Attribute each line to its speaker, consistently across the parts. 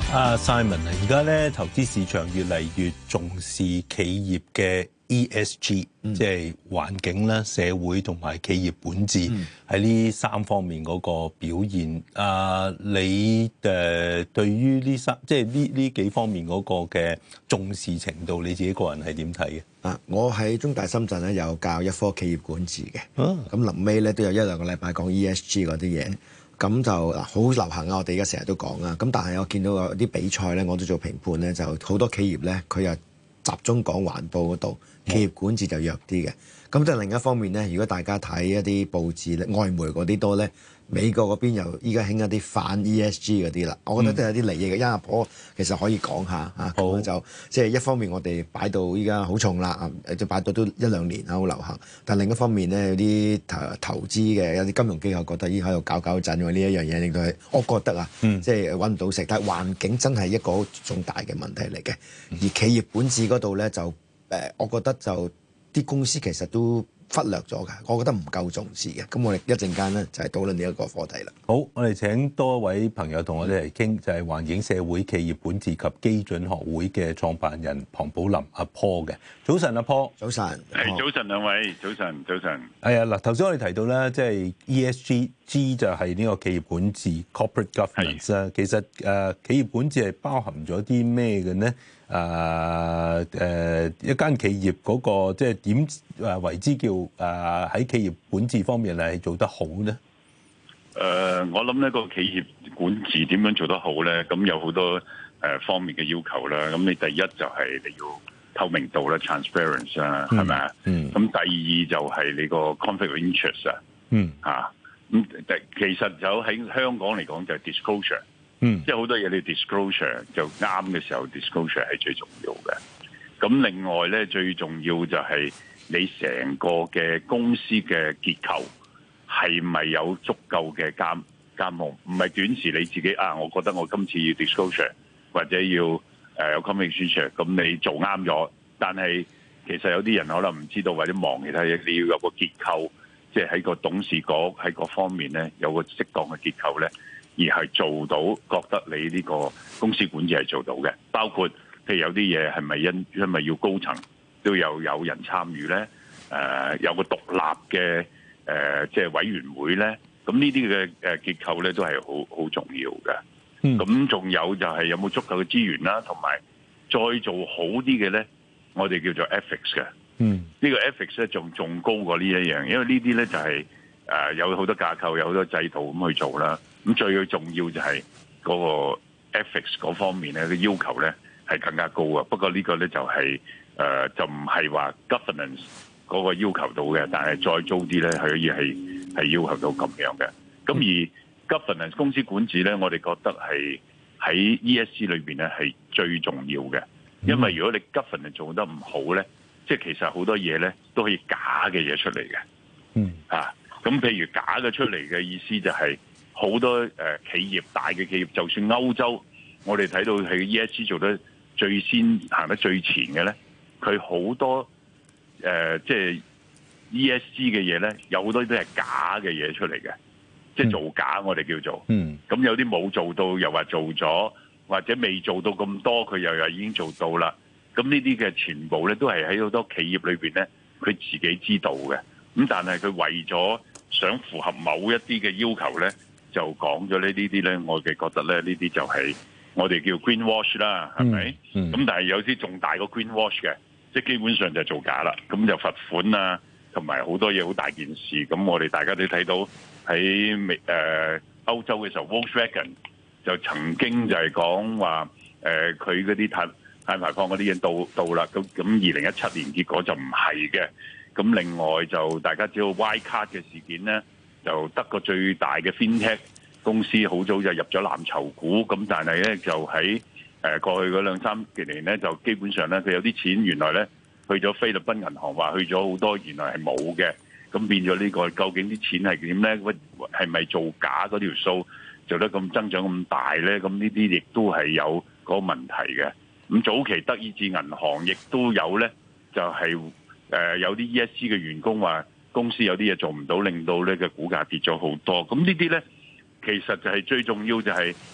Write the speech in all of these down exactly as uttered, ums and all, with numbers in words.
Speaker 1: 啊 Simon 啊，而家咧投資市場越嚟越重視企業嘅 E S G，嗯、即係環境啦、社會同埋企業本質喺呢、嗯、三方面嗰個表現。啊，你誒對於呢三即係呢呢幾方面嗰個嘅重視程度，你自己個人係點睇嘅？
Speaker 2: 啊，我喺中大深圳咧有教一科企業管治嘅，咁臨尾咧都有一兩個禮拜講 E S G 嗰啲嘢。咁就嗱好流行啊！我哋而家成日都講啊。咁但係我見到有啲比賽咧，我都做評判咧，就好多企業咧，佢又集中講環保嗰度，企業管治就弱啲嘅。咁就另一方面咧，如果大家睇一啲報紙咧，外媒嗰啲多咧，美國嗰邊又依家興一啲反 E S G 嗰啲啦。我覺得都有啲利益嘅。因為阿婆其實可以講下嚇，咁好就即係一方面我哋擺到依家好重啦，誒就擺到都一兩年啦，好流行。但另一方面咧，有啲投投資嘅有啲金融機構覺得依喺度搞搞震喎，呢一樣嘢令到係我覺得啊，嗯、即係揾唔到食。但係環境真係一個好重大嘅問題嚟嘅。而企業本質嗰度咧就誒，我覺得就。啲公司其實都忽略咗㗎，我覺得唔夠重視嘅。咁我哋一陣間咧就係討論呢一個課題啦。
Speaker 1: 好，我哋請多一位朋友同我哋嚟傾，就係環境社會企業管治及基準學會嘅創辦人龐寶林阿 Paul 嘅。早晨，阿 Paul。
Speaker 2: 早晨。
Speaker 3: 係早晨，兩位。早晨，早晨。
Speaker 1: 係啊，嗱，頭先我哋提到咧，即係 E S G，G 就係呢個企業管治 （corporate governance） 啦。其實誒，企業管治係包含咗啲咩嘅呢？誒、呃、誒、呃，一間企業嗰、那個即係點誒為之叫誒喺、呃、企業管治方面係做得好咧？
Speaker 3: 誒、呃，我諗呢個企業管治點樣做得好咧？咁有好多誒、呃、方面嘅要求啦。咁你第一就係你要透明度啦 （transparency） 啊，係咪啊？嗯。咁第二就係你個 conflict of interest 啊。嗯。嚇，咁其實就喺香港嚟講就係 disclosure。嗯，即係好多嘢你 disclosure 就啱嘅時候 disclosure 係最重要嘅。咁另外咧，最重要就係你成個嘅公司嘅結構係咪有足夠嘅監監控？唔係短時你自己啊，我覺得我今次要 disclosure 或者要誒、呃、有 communication，咁你做啱咗。但係其實有啲人可能唔知道或者忙其他嘢，你要有個結構，即係喺個董事局喺各方面咧有個適當嘅結構咧。而係做到，覺得你呢個公司管治係做到嘅，包括譬如有啲嘢係咪因因為要高層都有有人參與咧？誒、呃，有個獨立嘅誒、呃，即係委員會咧。咁呢啲嘅誒結構咧都係好好重要嘅。咁仲、嗯、有就係有冇足夠嘅資源啦，同埋再做好啲嘅咧，我哋叫做 ethics 嘅。嗯，呢個 ethics 咧仲仲高過呢一樣，因為呢啲咧就係、是、誒、呃、有好多架構，有好多制度咁去做啦。咁最重要就係嗰個 ethics 嗰方面咧，嘅要求咧係更加高啊。不過呢個咧就係、是、誒、呃、就唔係話 governance 嗰個要求到嘅，但係再高啲咧係可以係係要求到咁樣嘅。咁而 governance 公司管治咧，我哋覺得係喺 E S G 裏邊咧係最重要嘅，因為如果你 governance 做得唔好咧，即係其實好多嘢咧都可以假嘅嘢出嚟嘅。嗯啊，咁譬如假嘅出嚟嘅意思就係、是。好多誒企業，大嘅企業，就算歐洲，我哋睇到係 E S G 做得最先行得最前嘅咧，佢好多誒、呃、即係 E S G 嘅嘢咧，有好多都係假嘅嘢出嚟嘅，即係造假，我哋叫做。嗯。咁有啲冇做到，又話做咗，或者未做到咁多，佢又又已經做到啦。咁呢啲嘅全部咧，都係喺好多企業裏邊咧，佢自己知道嘅。咁但係佢為咗想符合某一啲嘅要求咧。就講咗呢呢啲咧，我哋覺得咧呢啲就係我哋叫 green wash 啦，係咪？咁、嗯嗯、但係有啲仲大過 green wash 嘅，即係基本上就係造假啦。咁就罰款啊，同埋好多嘢好大件事。咁我哋大家都睇到喺美誒歐洲嘅時候 Volkswagen 就曾經就係講話誒佢嗰啲碳碳排放嗰啲嘢到到啦。咁咁二零一七年結果就唔係嘅。咁另外就大家知道 Wirecard 嘅事件咧。就得個最大嘅 FinTech 公司好早就入咗藍籌股，咁但係咧就喺誒過去嗰兩三幾年咧，就基本上咧佢有啲錢原來咧去咗菲律賓銀行，話去咗好多，原來係冇嘅，咁變咗呢個究竟啲錢係點咧？係咪造假嗰條數做得咁增長咁大咧？咁呢啲亦都係有嗰個問題嘅。咁早期德意志銀行亦都有咧，就係誒有啲 E S G 嘅員工話。公司有啲嘢做唔到，令到呢個股價跌咗好多。咁呢啲咧，其實就係最重要就係、是，即、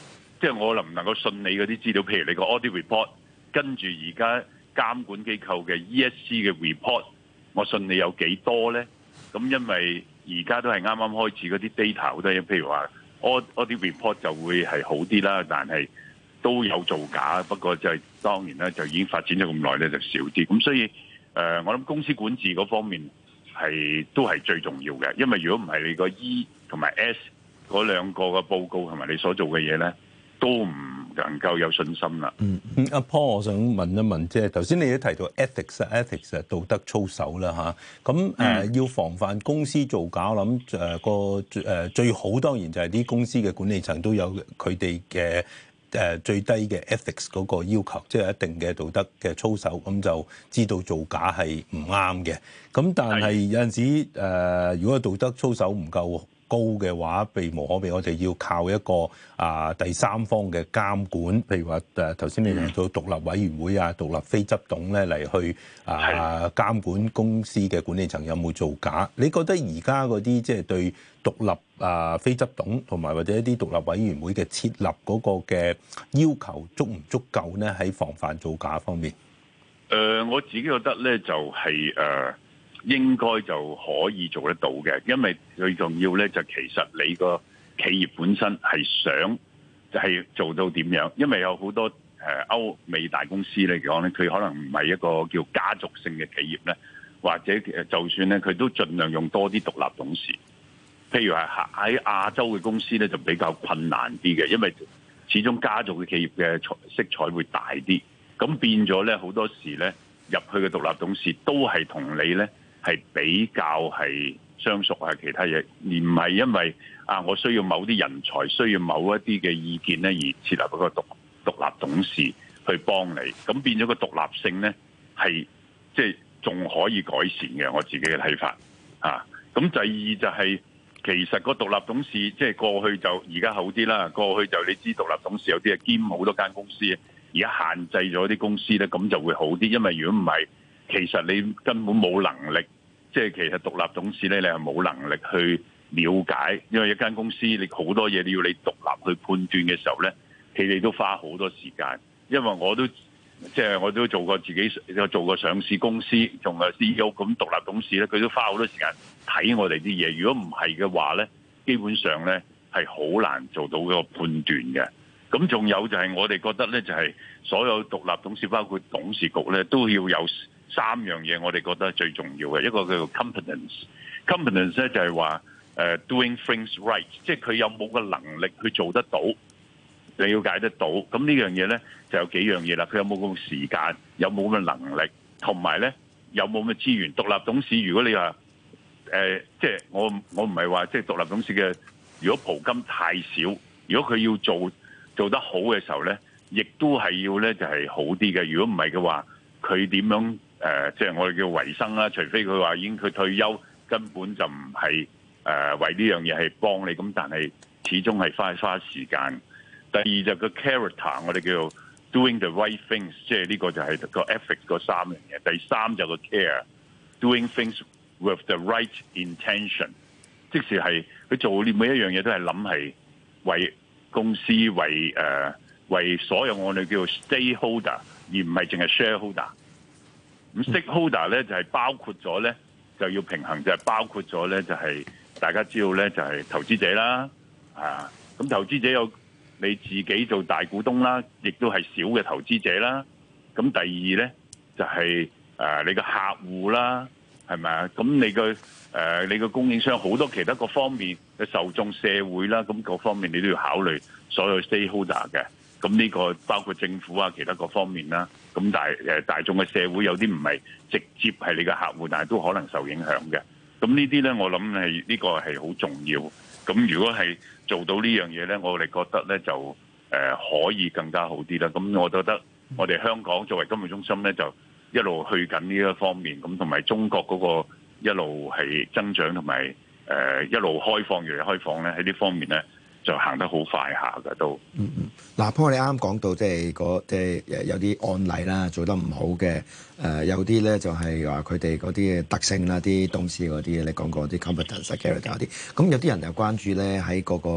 Speaker 3: 即係我能唔能夠信你嗰啲資料？譬如你個 audit report，跟住而家監管機構嘅 E S G 嘅 report，我信你有幾多咧？咁因為而家都係啱啱開始嗰啲 data 好多嘢，譬如話 audit report 就會係好啲啦，但係都有造假。不過就係當然咧，就已經發展咗咁耐咧，就少啲。咁所以誒、呃，我諗公司管治嗰方面係都係最重要嘅，因為如果唔係你個 E 同埋 S 嗰兩個嘅報告同埋你所做嘅嘢咧，都唔能夠有信心啦。
Speaker 1: 嗯，阿 Paul，我想問一問，即係頭先你都提到 ethics 啊 ，ethics 道德操守啦嚇。咁誒、呃嗯、要防範公司造假，我諗誒個誒最好當然就係啲公司嘅管理層都有佢哋嘅誒最低嘅 ethics 嗰個要求，即係一定嘅道德嘅操守，咁就知道造假係唔啱嘅。咁但係有陣時誒、呃，如果道德操守唔夠高嘅話，避無可避，我哋要靠一個啊第三方嘅監管，譬如話誒頭先你提到獨立委員會啊、獨立非執董咧嚟去啊監管公司嘅管理層有冇造假。你覺得而家嗰啲即係對獨立啊非執董同埋或者一啲獨立委員會嘅設立嗰個嘅要求足唔足夠咧？喺防範造假方面，
Speaker 3: 誒、呃、我自己覺得咧就係、是、誒。呃應該就可以做得到嘅，因為最重要咧就其實你個企業本身係想就係做到點樣，因為有好多誒歐美大公司嚟講咧，佢可能唔係一個叫家族性嘅企業咧，或者就算咧佢都盡量用多啲獨立董事。譬如係喺亞洲嘅公司咧就比較困難啲嘅，因為始終家族嘅企業嘅色彩會大啲，咁變咗咧好多時咧入去嘅獨立董事都係同你咧。係比較係相熟啊，其他嘢，而唔係因為啊，我需要某啲人才，需要某一啲嘅意見咧，而設立一個獨獨立董事去幫你，咁變咗個獨立性咧，係即係仲可以改善嘅。我自己嘅睇法啊。咁第二就係、是、其實個獨立董事即係過去就而家好啲啦。過去就你知獨立董事有啲係兼好多間公司，而家限制咗啲公司咧，咁就會好啲。因為如果唔係，其實你根本冇能力。即係其實獨立董事咧，你係冇能力去了解，因為一間公司你好多嘢你要你獨立去判斷嘅時候咧，佢哋都花好多時間。因為我都即係我都做過自己做過上市公司，仲係 C E O 咁獨立董事咧，佢都花好多時間睇我哋啲嘢。如果唔係嘅話咧，基本上咧係好難做到嗰個判斷嘅。咁仲有就係我哋覺得咧，就係所有獨立董事，包括董事局咧，都要有三樣嘢，我哋覺得最重要嘅。一個叫做 competence，competence 咧就係話誒 doing things right，即係佢有冇個能力去做得到，你了解得到。咁呢樣嘢咧就有幾樣嘢啦。佢有冇咁嘅時間，有冇咁嘅能力，同埋咧有冇咁嘅資源。獨立董事如果你話誒，即係我我唔係話即係獨立董事嘅，如果蒲金太少，如果佢要做做得好嘅時候咧，亦都係要咧就係好啲嘅。如果唔係嘅話，佢點樣誒、呃？即係我哋叫維生啦。除非佢話已經佢退休，根本就唔係誒為呢樣嘢係幫你。咁但係始終係花花時間。第二就個 character，我哋叫做 doing the right things， 即係呢個就係個 ethics 嗰三樣嘢。第三就個 care，doing things with the right intention， 即是係佢做呢每一樣嘢都係諗係為公司為誒、呃、為所有我哋叫 stakeholder， 而唔係淨係 shareholder。咁 stakeholder 咧就係、是、包括咗咧就要平衡，就係、是、包括咗咧就係、是、大家知道咧就係、是、投資者啦，啊咁投資者有你自己做大股東啦，亦都係小嘅投資者啦。咁第二咧就係、是、誒、呃、你個客戶啦，係咪啊？咁你個誒、呃、你個供應商好多其他各方面嘅受眾社會啦，咁各方面你都要考慮所有 stakeholder 嘅。咁呢個包括政府啊，其他各方面啦。咁大誒大眾嘅社會有啲唔係直接係你嘅客戶，但係都可能受影響嘅。咁呢啲咧，我諗係呢個係好重要。咁如果係做到呢樣嘢咧，我哋覺得咧就誒、呃、可以更加好啲啦。咁我覺得我哋香港作為金融中心咧，就一路去緊呢一方面，咁同埋中國嗰個一路係增長，同埋誒一路開放越嚟開放咧，喺呢方面咧就行得好快下㗎都。
Speaker 2: 嗯嗯，嗱，Paul你啱啱講到即係嗰即係有啲案例啦，做得唔好嘅，誒、呃、有啲咧就係話佢哋嗰啲特性啦，啲董事嗰啲你講過啲 competence、character 嗰啲，咁有啲人又關注咧喺嗰個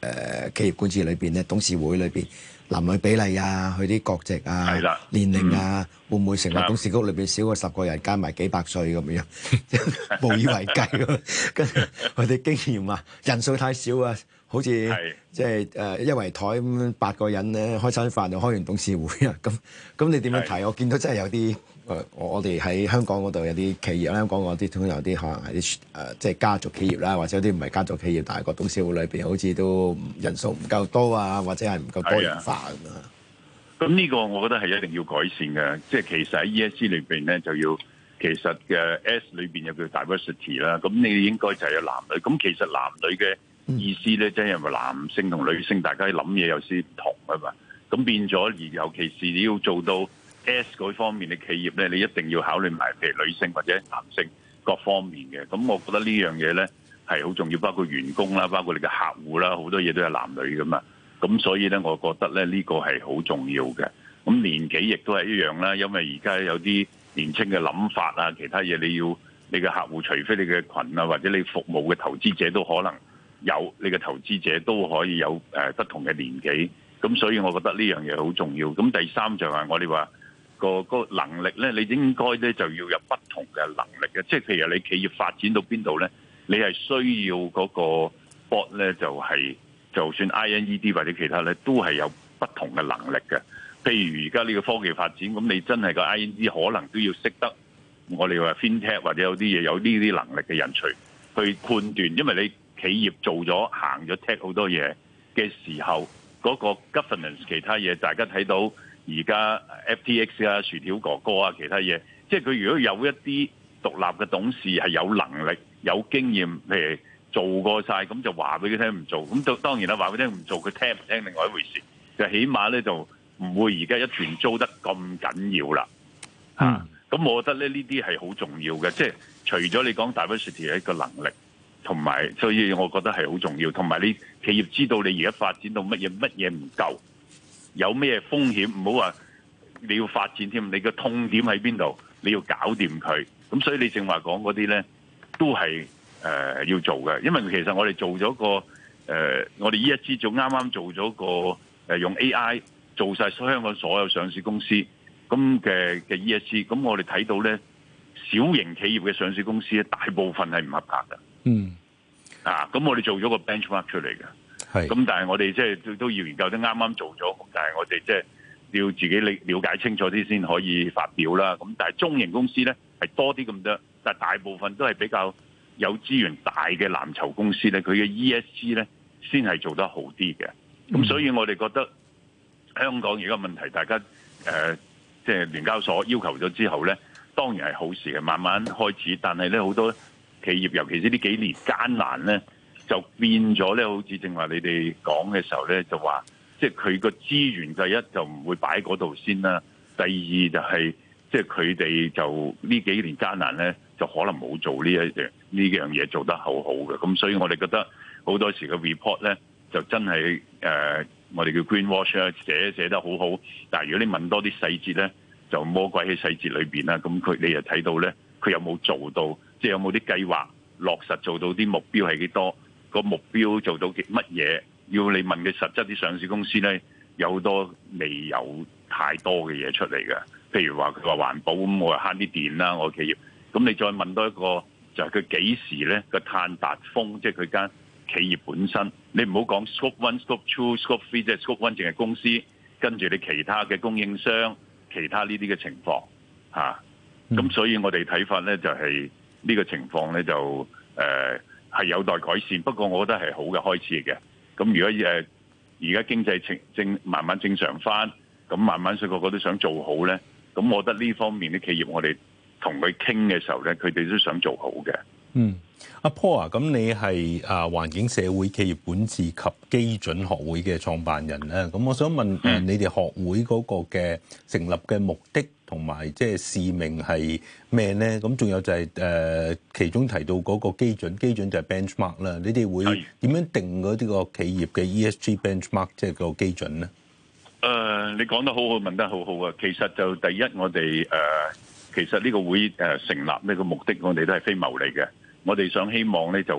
Speaker 2: 呃、企業管治裏邊咧，董事會裏邊男女比例啊，佢啲國籍啊、年齡啊，嗯、會唔會成為董事局裏邊少過十個人，加埋幾百歲咁樣，無以為繼咯。跟住佢哋經驗啊，人數太少啊，好似即係誒一圍台咁八個人咧，開餐飯就開完董事會啊。咁咁你點樣睇？我見到真係有啲。誒，我哋喺香港嗰度有啲企業啦，香港嗰啲通常有啲可能係啲誒，即係家族企業啦，或者有啲唔係家族企業，但係個董事會裏邊好似都人數唔夠多啊，或者係唔夠多元化咁啊。
Speaker 3: 咁呢個我覺得係一定要改善嘅，即係其實喺 E S G 裏邊咧就要，其實嘅 S 裏邊有叫 diversity 啦，咁你應該就係有男女。咁其實男女嘅意思咧，即係因為男性同女性大家諗嘢有啲唔同啊嘛，咁變咗而尤其是你要做到。S 嗰方面嘅企業咧，你一定要考慮埋譬如女性或者男性各方面嘅。咁我覺得呢樣嘢咧係好重要，包括員工啦，包括你嘅客戶啦，好多嘢都係男女噶嘛。咁所以咧，我覺得咧呢個係好重要嘅。咁年紀亦都係一樣啦，因為而家有啲年輕嘅諗法啊，其他嘢你要你嘅客戶，除非你嘅群啊，或者你服務嘅投資者都可能有，你嘅投資者都可以有誒不同嘅年紀。咁所以我覺得呢樣嘢好重要。咁第三就係我哋話。個個能力咧，你應該咧就要有不同嘅能力嘅，即係譬如你企業發展到邊度咧，你係需要嗰個 board 咧，就係就算 I N E D 或者其他咧，都係有不同嘅能力嘅。譬如而家呢個科技發展，咁你真係個 I N E D 可能都要識得我哋話 FinTech 或者有啲嘢有呢啲能力嘅人才去判斷，因為你企業做咗行咗 tech 好多嘢嘅時候，嗰個 governance 其他嘢大家睇到。而家 F T X 啊、薯條哥哥啊、其他嘢，即係佢如果有一啲獨立嘅董事係有能力、有經驗，譬如做過晒，咁就話俾佢聽唔做。咁就當然啦，話俾佢聽唔做，佢聽唔聽另外一回事。就起碼咧就唔會而家一團糟得咁緊要啦。嚇、嗯，咁、啊、我覺得咧呢啲係好重要嘅，即係除咗你講 diversity 嘅一個能力，同埋所以我覺得係好重要。同埋你企業知道你而家發展到乜嘢，乜嘢唔夠。有咩風險？唔好話你要發展添，你個痛點喺邊度？你要搞掂佢。咁所以你正話講嗰啲咧，都係誒、呃、要做嘅。因為其實我哋做咗個誒、呃，我哋 E S G 做啱啱做咗個誒、呃、用 A I 做晒香港所有上市公司咁嘅嘅 E S G。咁我哋睇到咧，小型企業嘅上市公司咧，大部分係唔合格嘅。嗯。啊，咁我哋做咗個 benchmark 出嚟嘅。咁但係我哋即係都要研究，都啱啱做咗，但係我哋即係要自己理了解清楚啲先可以發表啦。咁但係中型公司咧係多啲咁多，但係大部分都係比較有資源大嘅藍籌公司咧，佢嘅 E S G 咧先係做得好啲嘅。咁、嗯、所以我哋覺得香港而家問題，大家誒即係聯交所要求咗之後咧，當然係好事嘅，慢慢開始。但係咧好多企業，尤其是呢幾年艱難咧。就變咗咧，好似正話你哋講嘅時候咧，就話即係佢個資源第一就唔會擺嗰度先啦，第二就係即係佢哋就呢幾年艱難咧，就可能冇做呢一樣呢樣嘢做得好好嘅，咁所以我哋覺得好多時嘅 report 咧就真係誒、呃，我哋叫 greenwash 啊，寫寫得好好，但係如果你問多啲細節咧，就魔鬼喺細節裏邊啦，咁佢你又睇到咧，佢有冇做到，即係有冇啲計劃落實做到啲目標係幾多？個目標做到乜嘢？要你問嘅實質啲上市公司咧，有好多未有太多嘅嘢出嚟嘅。譬如話佢話環保咁，我話慳啲電啦，我企業。咁你再問多一個，就係佢幾時咧個碳達峰？即係佢間企業本身。你唔好講 scope one、scope two、scope three，即係 scope one 淨係公司，跟住你其他嘅供應商、其他呢啲嘅情況嚇。咁、嗯、所以我哋睇法咧就係呢個情況咧就誒。呃係有待改善，不過我覺得係好嘅開始嘅。咁如果誒而家經濟正正慢慢正常翻，咁慢慢所以個個都想做好咧。咁我覺得呢方面啲企業，我哋同佢傾嘅時候咧，佢哋都想做好嘅。嗯，
Speaker 1: 阿 Paul 啊，咁你係啊環境社會企業管治及基準學會嘅創辦人咧。咁我想問誒、嗯，你哋學會嗰個嘅成立嘅目的同埋即係使命係咩咧？咁仲有就係、是、誒、呃、其中提到嗰個基準，基準就係 benchmark 啦。你哋會點樣定嗰啲個企業嘅 E S G benchmark，即係個基準咧？誒、
Speaker 3: 呃，你講得好好，問得好好啊！其實就第一，我哋誒、呃、其實呢個會誒成立呢個目的，我哋都係非牟利嘅。我哋想希望咧就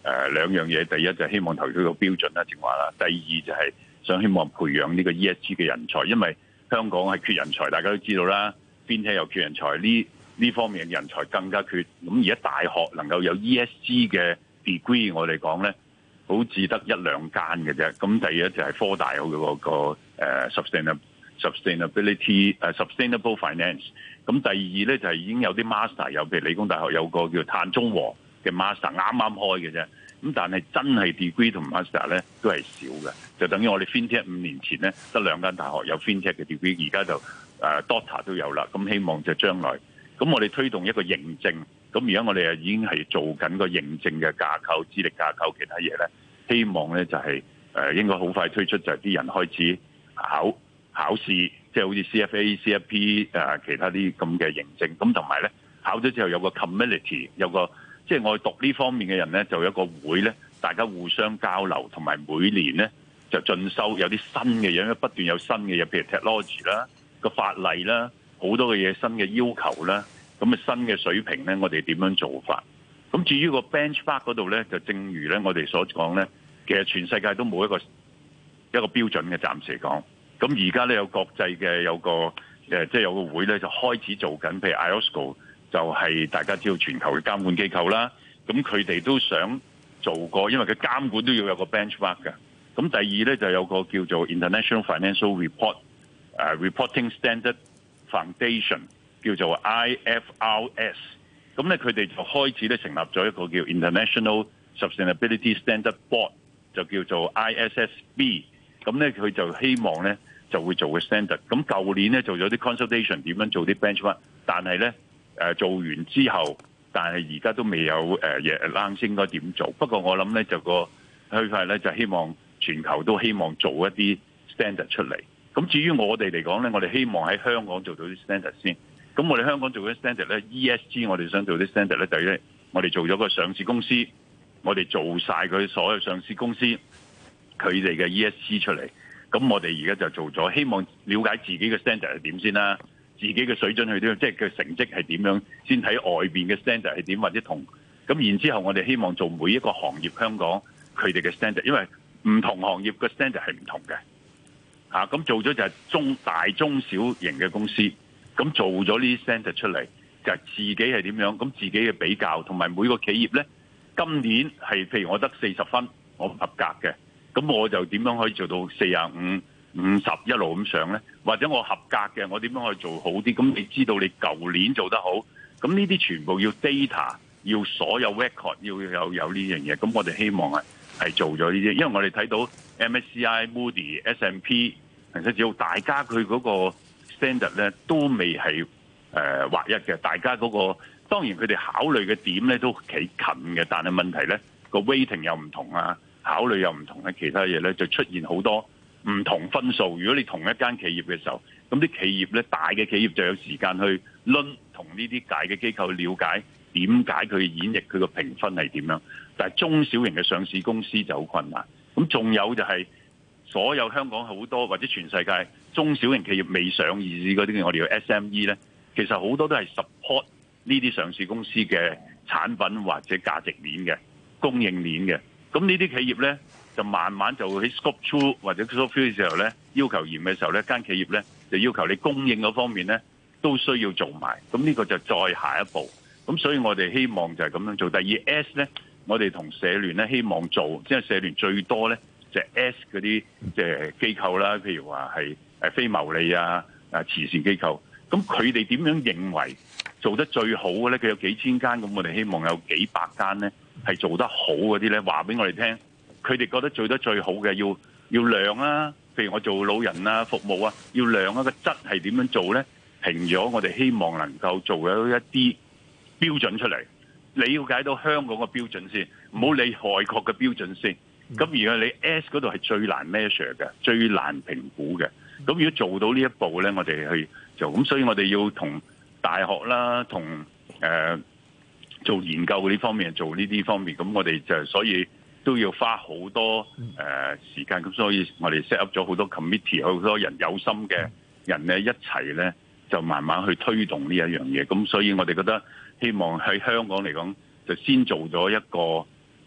Speaker 3: 誒兩樣嘢，第一就係希望投資個標準啦，正話啦。第二就係想希望培養呢個 E S G 嘅人才，因為香港係缺人才，大家都知道啦。FinTech又缺人才，呢呢方面嘅人才更加缺。咁而家大學能夠有 E S G 嘅 degree， 我哋講咧，好似得一兩間嘅啫。咁第一就係科大有嗰個誒 sustainable sustainability 誒 sustainable finance。咁第二咧就係已經有啲 master， 有譬如理工大學有個叫碳中和嘅 master， 啱啱開嘅啫。咁但係真係 degree 同 master 咧都係少嘅，就等於我哋 FinTech 五年前咧得兩間大學有 FinTech 嘅 degree， 而家就誒 Doctor 都有啦。咁希望就將來，咁我哋推動一個認證。咁而家我哋啊已經係做緊個認證嘅架構、資歷架構，其他嘢咧，希望咧就係誒應該好快推出，就係啲人開始考考試，即係好似 C F A、C F P 誒其他啲咁嘅認證。咁同埋咧考咗之後有個 community， 有個即係我哋讀呢方面嘅人咧，就有一個會咧，大家互相交流，同埋每年咧就進修，有啲新嘅嘢，因為不斷有新嘅嘢，譬如 technology 啦、個法例啦，好多嘅嘢新嘅要求啦。咁啊新嘅水平咧，我哋點樣做法？咁至於個 benchmark 嗰度咧，就正如咧我哋所講咧，其實全世界都冇一個一個標準嘅，暫時嚟講。咁而家咧有國際嘅有個誒，即係有個會咧就開始做緊，譬如 I O S C O 就係大家知道全球嘅監管機構啦。咁佢哋都想做過，因為佢監管都要有個 benchmark 嘅。咁第二咧就有個叫做 International Financial Report 誒 Reporting Standard Foundation。叫做 I F R S， 咁咧佢哋就開始咧成立咗一個叫 International Sustainability Standard Board， 就叫做 I S S B。咁咧佢就希望咧就會做個 standard。咁舊年咧做咗啲 consultation， 點樣做啲 benchmark， 但係咧誒做完之後，但係而家都未有誒嘢啱應該點做。不過我諗咧就個區塊咧就希望全球都希望做一啲 standard 出嚟。咁至於我哋嚟講咧，我哋希望喺香港做到啲 standard 先。咁我哋香港做嘅 standard 咧 ，E S G 我哋想做啲 standard 咧，就係咧，我哋做咗個上市公司，我哋做晒佢所有上市公司佢哋嘅 E S G 出嚟。咁我哋而家就做咗，希望了解自己嘅 standard 係點先啦，自己嘅水準係點，即係佢成績係點樣，先睇外邊嘅 standard 係點或者同。咁然之後我哋希望做每一個行業香港佢哋嘅 standard，因為唔同行業嘅 standard 係唔同嘅。嚇，咁做咗就係中大中小型嘅公司。咁做咗呢啲 standard 出嚟，就係自己係點樣，咁自己嘅比較，同埋每個企業咧，今年係譬如我得四十分，我唔合格嘅，咁我就點樣可以做到四十五、五十一路咁上咧？或者我合格嘅，我點樣可以做好啲？咁你知道你舊年做得好，咁呢啲全部要 data， 要所有 record， 要有有呢樣嘢。咁我哋希望係係做咗呢啲，因為我哋睇到 M S C I、Moody、S and P， 其實只要大家佢嗰個standard 咧都未係誒劃一嘅，大家嗰、那個當然佢哋考慮嘅點咧都幾近嘅，但係問題咧個 weighting 又唔同啊，考慮又唔同嘅，其他嘢咧就出現好多唔同分數。如果你同一間企業嘅時候，咁啲企業咧大嘅企業就有時間去論同呢啲大嘅機構了解點解佢演繹佢個評分係點樣，但係中小型嘅上市公司就好困難。咁仲有就係、是。所有香港好多或者全世界中小型企業未上市嗰啲，我哋叫 S M E 咧，其實好多都係 support 呢啲上市公司嘅產品或者價值鏈嘅供應鏈嘅。咁呢啲企業咧就慢慢就會喺 scope two 或者 scope three 嘅時候咧要求嚴嘅時候咧，間企業咧就要求你供應嗰方面咧都需要做埋。咁呢個就再下一步。咁所以我哋希望就係咁樣做。第二 S 咧，我哋同社聯咧希望做，即係社聯最多咧。就係 S 嗰啲即係機構啦，譬如話係誒非牟利啊、誒慈善機構，咁佢哋點樣認為做得最好嘅咧？佢有幾千間，咁我哋希望有幾百間咧係做得好嗰啲咧，話俾我哋聽，佢哋覺得做得最好嘅要要量啊，譬如我做老人啊服務啊，要量啊個質係點樣做咧？評咗我哋希望能夠做咗一啲標準出嚟，你了解到香港嘅標準先，唔好理外國嘅標準先。咁而家你 S 嗰度係最難 measure 嘅，最難評估嘅。咁如果做到呢一步咧，我哋去做。咁所以我哋要同大學啦，同誒、呃、做研究呢方面做呢啲方面。咁我哋就所以都要花好多誒、呃、時間。咁所以我哋 set up 咗好多 committee， 好多人有心嘅人咧一齊咧，就慢慢去推動呢一樣嘢。咁所以我哋覺得希望喺香港嚟講，就先做咗一個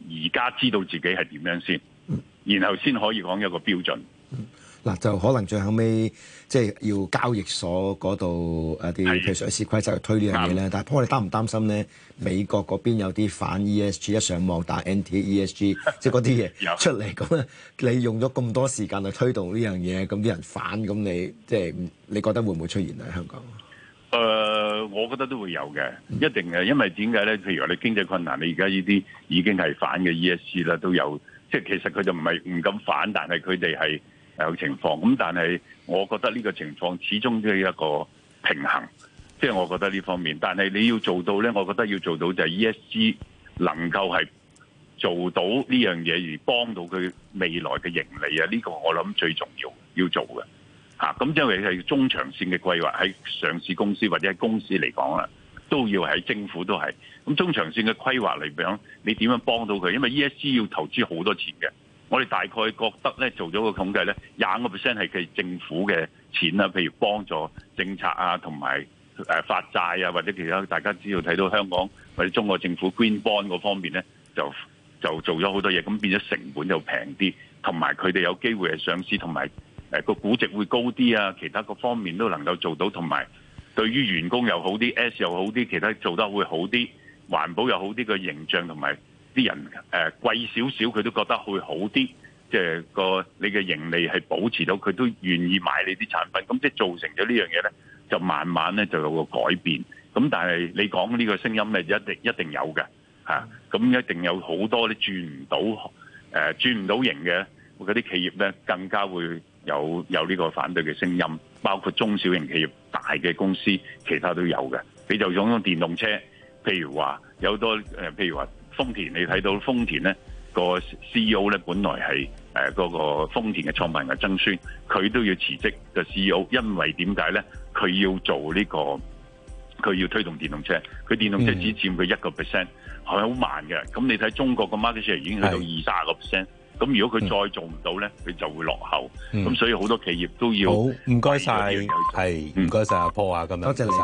Speaker 3: 而家知道自己係點樣先，然後先可以講一個標準。
Speaker 2: 嗱、嗯，就可能最後尾即係要交易所嗰度誒啲譬如上市規則去推呢樣嘢咧。但係，我哋擔唔擔心咧？美國嗰邊有啲反 E S G， 一上網打 anti E S G， 即係嗰啲嘢出嚟咁啊！你用咗咁多時間去推動呢樣嘢，咁啲人反，咁你即係你覺得會唔會出現喺香港？
Speaker 3: 誒、呃，我覺得都會有嘅，一定嘅，因為點解咧？譬如話你經濟困難，你而家呢啲已經係反嘅 E S G 啦，都有，即係其實佢就唔係唔敢反，但係佢哋係有情況。咁但係我覺得呢個情況始終都係一個平衡，即係我覺得呢方面。但係你要做到咧，我覺得要做到就係 E S G 能夠係做到呢樣嘢，而幫到佢未來嘅盈利啊！呢個我諗最重要要做嘅。嚇，咁因為係中長線嘅規劃，喺上市公司或者喺公司嚟講啦，都要喺政府都係。咁中長線嘅規劃嚟講，你點樣幫到佢？因為 E S G 要投資好多錢嘅。我哋大概覺得咧，做咗個統計咧，廿五個 percent 係佢政府嘅錢啦，譬如幫助政策啊，同埋誒發債啊，或者其他大家知道睇到香港或者中國政府 Green Bond 嗰方面咧，就就做咗好多嘢，咁變咗成本就平啲，同埋佢哋有機會係上市，同埋誒個估值會高啲啊，其他各方面都能夠做到，同埋對於員工又好啲 ，S 又好啲，其他做得會好啲，環保又好啲，個形象同埋啲人誒貴少少，佢都覺得會好啲，即係個你嘅盈利係保持到，佢都願意買你啲產品，咁即係造成咗呢樣嘢咧，就慢慢咧就有個改變。咁但係你講呢個聲音咧，一定一定有嘅嚇，咁一定有好多啲轉唔到誒轉唔到型嘅嗰啲企業咧，更加會有有呢個反對嘅聲音，包括中小型企業、大嘅公司，其他都有嘅。你就講電動車，譬如話有多誒，譬如話豐田，你睇到豐田咧個 C E O 咧，本來係誒嗰個豐田嘅創辦人曾孫，佢都要辭職嘅 C E O， 因為點解咧？佢要做呢個，佢要推動電動車，佢電動車只佔佢一個 percent，係好慢嘅。咁你睇中國個 market share 已經去到二十個 percent。咁如果佢再做唔到咧，佢就會落後。咁、嗯、所以好多企業都要
Speaker 1: 好，唔該晒，係唔該晒阿 Paul啊，咁樣多謝你。